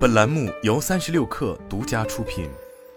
本栏目由36氪独家出品。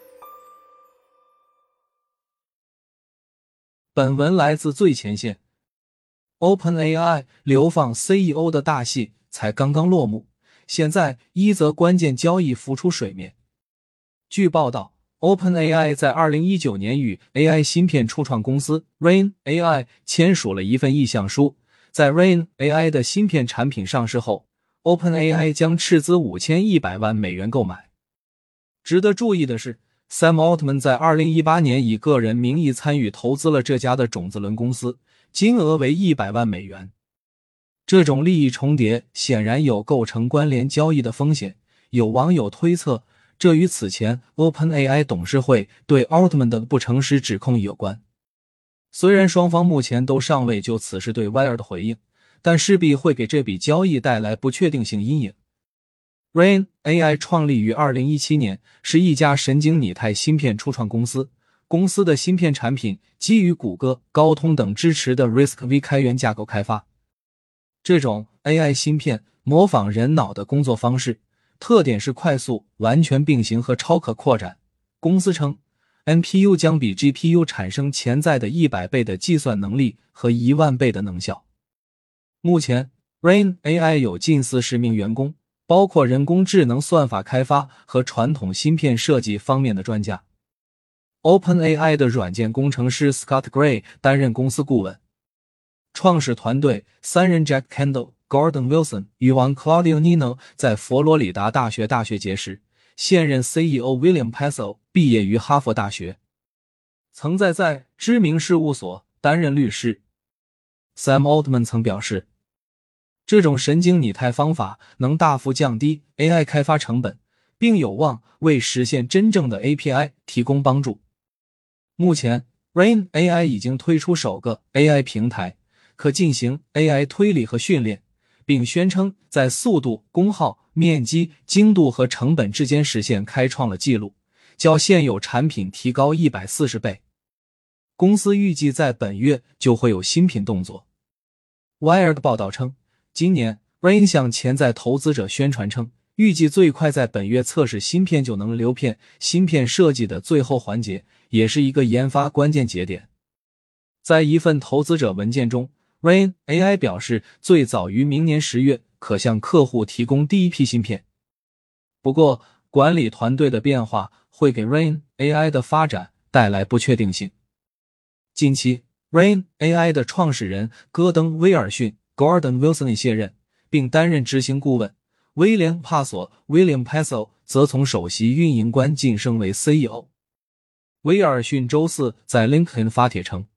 本文来自最前线。OpenAI 流放 CEO 的大戏才刚刚落幕，现在一则关键交易浮出水面。据报道， OpenAI 在2019年与 AI 芯片初创公司 Rain AI 签署了一份意向书，在 Rain AI 的芯片产品上市后， OpenAI 将斥资5100万美元购买。值得注意的是， Sam Altman 在2018年以个人名义参与投资了这家的种子轮公司，金额为100万美元。这种利益重叠显然有构成关联交易的风险，有网友推测，这与此前 OpenAI 董事会对 Altman 的不诚实指控有关。虽然双方目前都尚未就此事对 Wired 回应，但势必会给这笔交易带来不确定性阴影。Rain AI 创立于2017年，是一家神经拟态芯片初创公司。公司的芯片产品基于谷歌、高通等支持的 RISC-V 开源架构开发。这种 AI 芯片模仿人脑的工作方式，特点是快速、完全并行和超可扩展。公司称 NPU 将比 GPU 产生潜在的100倍的计算能力和10000倍的能效。目前 Rain AI 有近40名员工，包括人工智能算法开发和传统芯片设计方面的专家。OpenAI 的软件工程师 Scott Gray 担任公司顾问。创始团队3人 Jack Kendall、Gordon Wilson、Juan Claudio Nino 在佛罗里达大学结识，现任 CEO William Passow 毕业于哈佛大学，曾在知名事务所担任律师。Sam Altman 曾表示，这种神经拟态方法能大幅降低 AI 开发成本，并有望为实现真正的 API 提供帮助。目前 Rain AI 已经推出首个 AI 平台，可进行 AI 推理和训练，并宣称在速度、功耗、面积、精度和成本之间实现开创了纪录，较现有产品提高140倍。公司预计在本月就会有新品动作。Wired 报道称，今年 Rain 向潜在投资者宣传称，预计最快在本月测试芯片就能流片。芯片设计的最后环节也是一个研发关键节点。在一份投资者文件中， Rain AI 表示最早于明年10月可向客户提供第一批芯片。不过，管理团队的变化会给 Rain AI 的发展带来不确定性。近期 Rain AI 的创始人戈登·威尔逊 Gordon Wilson 卸任，并担任执行顾问。威廉·帕索 William Passow 则从首席运营官晋升为 CEO。 威尔逊周四在 LinkedIn 发帖称，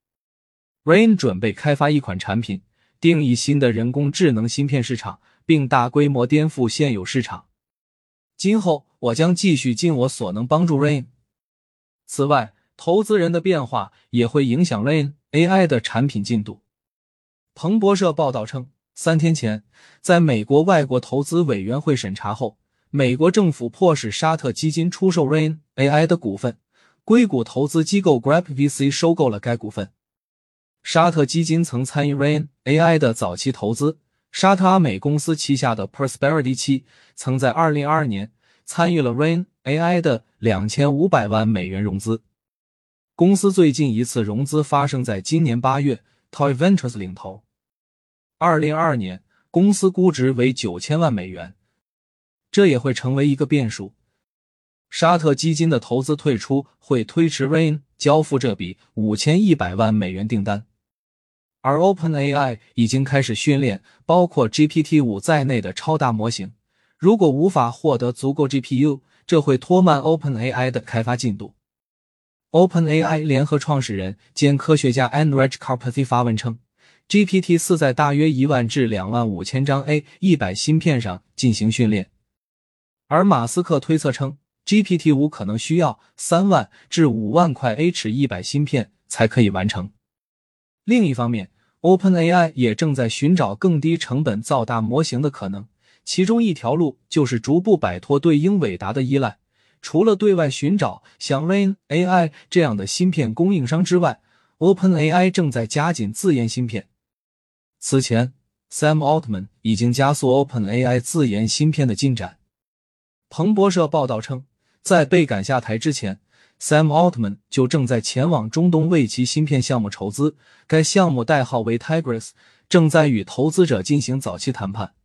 Rain 准备开发一款产品，定义新的人工智能芯片市场，并大规模颠覆现有市场。今后我将继续尽我所能帮助 Rain。 此外，投资人的变化也会影响 Rain AI 的产品进度。彭博社报道称，3天前，在美国外国投资委员会审查后，美国政府迫使沙特基金出售 Rain AI 的股份，硅谷投资机构 Grep VC 收购了该股份。沙特基金曾参与 Rain AI 的早期投资，沙特阿美公司旗下的 Prosperity 7曾在2022年参与了 Rain AI 的2500万美元融资。公司最近一次融资发生在今年8月， Toy Ventures 领投。2022年，公司估值为9000万美元，这也会成为一个变数。沙特基金的投资退出会推迟 Rain 交付这笔5100万美元订单。而 OpenAI 已经开始训练包括 GPT-5 在内的超大模型，如果无法获得足够 GPU， 这会拖慢 OpenAI 的开发进度。OpenAI 联合创始人兼科学家 Andrej Karpathy 发文称， GPT-4 在大约1万至25000张 A100 芯片上进行训练，而马斯克推测称 GPT-5 可能需要3万至5万块 H100 芯片才可以完成。另一方面， OpenAI 也正在寻找更低成本造大模型的可能，其中一条路就是逐步摆脱对英伟达的依赖。除了对外寻找像 Rain AI 这样的芯片供应商之外， OpenAI 正在加紧自研芯片。此前 Sam Altman 已经加速 OpenAI 自研芯片的进展。 彭博社报道称，在被赶下台之前， Sam Altman 就正在前往中东为其芯片项目筹资，该项目代号为 Tigris， 正在与投资者进行早期谈判。